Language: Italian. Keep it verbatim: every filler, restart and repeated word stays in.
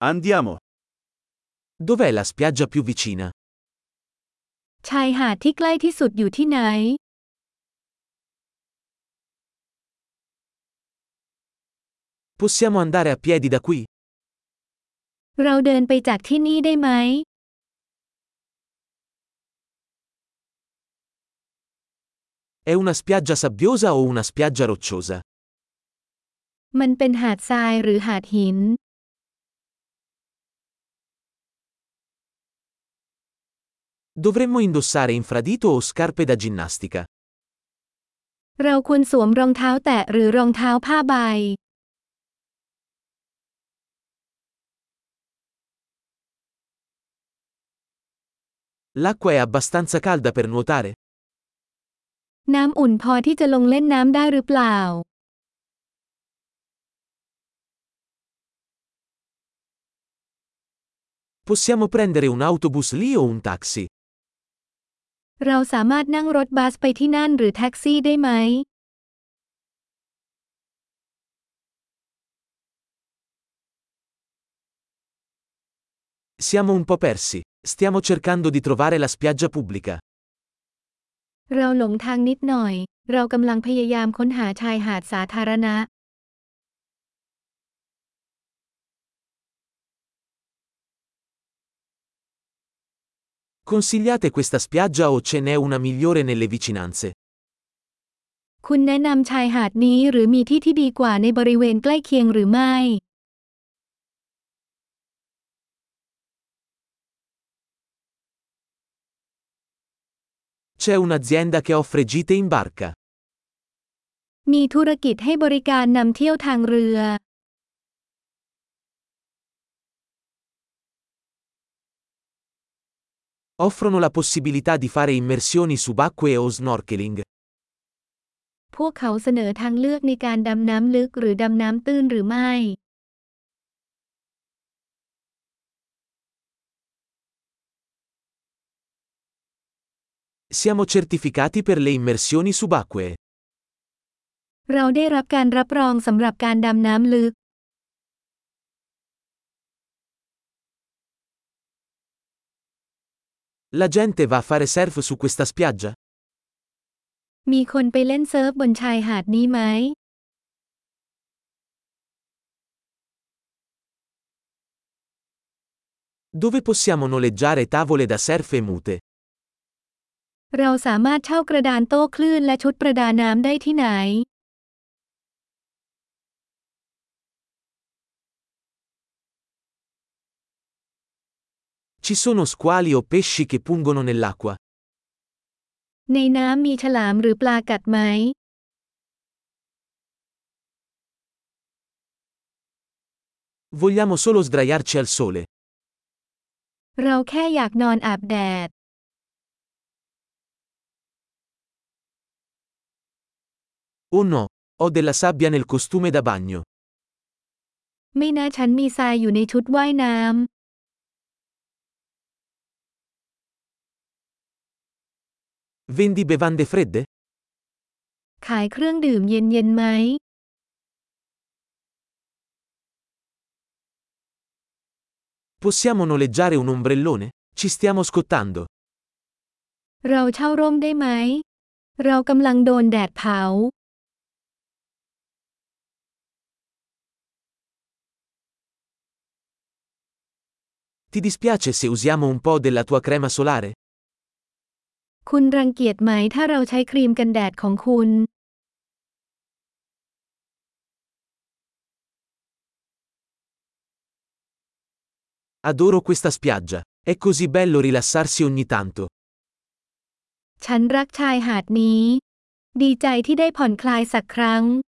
Andiamo. Dov'è la spiaggia più vicina? ชายหาดที่ใกล้ที่สุดอยู่ที่ไหน Possiamo andare a piedi da qui? เราเดินไปจากที่นี่ได้ไหม È una spiaggia sabbiosa o una spiaggia rocciosa? มันเป็นหาดทรายหรือหาดหิน Dovremmo indossare infradito o scarpe da ginnastica? เราควรสวมรองเท้าแตะหรือรองเท้าผ้าใบ L'acqua è abbastanza calda per nuotare? น้ำอุ่นพอที่จะลงเล่นน้ำได้หรือเปล่า Possiamo prendere un autobus lì o un taxi? เราสามารถนั่งรถบัสไปที่นั่นหรือแท็กซี่ได้ไหม Siamo un po' persi. Stiamo cercando di trovare la spiaggia pubblica. เราหลงทางนิดหน่อย เรากำลังพยายามค้นหาชายหาดสาธารณะ Consigliate questa spiaggia o ce n'è una migliore nelle vicinanze? คุณแนะนำชายหาดนี้หรือมีที่ที่ดีกว่าในบริเวณใกล้เคียงหรือไม่ C'è un'azienda che offre gite in barca. มีธุรกิจให้บริการนำเที่ยวทางเรือ Offrono la possibilità di fare immersioni subacquee o snorkeling. พวกเขาเสนอทางเลือกในการดำน้ำลึกหรือดำน้ำตื้นหรือไม่ Siamo certificati per le immersioni subacquee. เราได้รับการรับรองสำหรับการดำน้ำลึก La gente va a fare surf su questa spiaggia? มีคนไปเล่นเซิร์ฟบนชายหาดนี้ไหม Dove possiamo noleggiare tavole da surf e mute? เราสามารถเช่ากระดานโต้คลื่นและชุดประดาน้ำได้ที่ไหน Ci sono squali o pesci che pungono nell'acqua? ในน้ำมีฉลามหรือปลากัดไหม Vogliamo solo sdraiarci al sole. เราแค่อยากนอนอาบแดด Oh no, ho della sabbia nel costume da bagno. ไม่น่าฉันมีทรายอยู่ในชุดว่ายน้ำ Vendi bevande fredde? ขายเครื่องดื่มเย็นๆไหม Possiamo noleggiare un ombrellone? Ci stiamo scottando. เราเช่าร่มได้ไหม เรากำลังโดนแดดเผา Ti dispiace se usiamo un po' della tua crema solare? คุณรังเกียจไหมถ้าเราใช้ครีมกันแดดของคุณ Adoro questa spiaggia. È così bello rilassarsi ogni tanto. ฉันรักชายหาดนี้ ดีใจที่ได้ผ่อนคลายสักครั้ง